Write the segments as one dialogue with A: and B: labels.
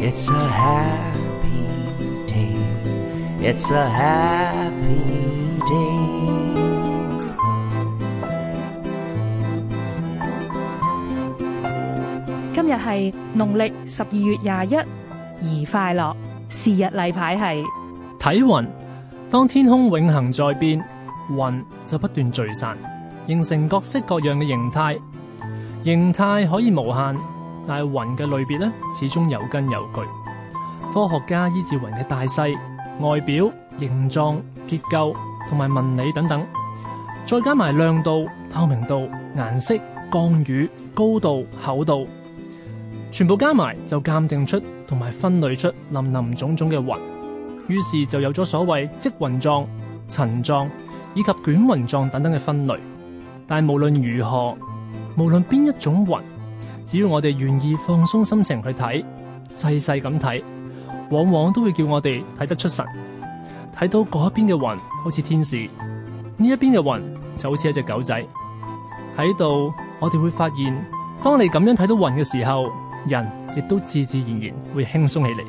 A: It's a happy day. It's a happy day.
B: 今日係農曆12月21，宜快樂。是日例牌係
C: 睇雲。當天空永恆在變，雲就不斷聚散，形成各式各樣嘅形態。形態可以無限，但係雲嘅類別呢，始終有根有據。科學家依照雲嘅大細、外表、形狀、結構同埋紋理等等，再加埋亮度、透明度、顏色、降雨、高度、厚度，全部加埋就鑑定出同埋分類出林林種種嘅雲。於是就有咗所謂積雲狀、塵狀以及捲雲狀等等嘅分類。但係無論如何，無論邊一種雲，只要我哋願意放鬆心情去睇，細細咁睇，往往都會叫我哋睇得出神。睇到嗰一邊嘅雲好似天使，呢一邊嘅雲就好似一隻狗仔。喺度我哋會發現，當你咁樣睇到雲嘅時候，人亦都自自然然會輕鬆起嚟。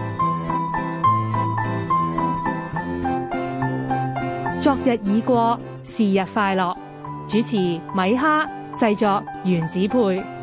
B: 昨日已過，是日快樂。主持米哈，製作原子配。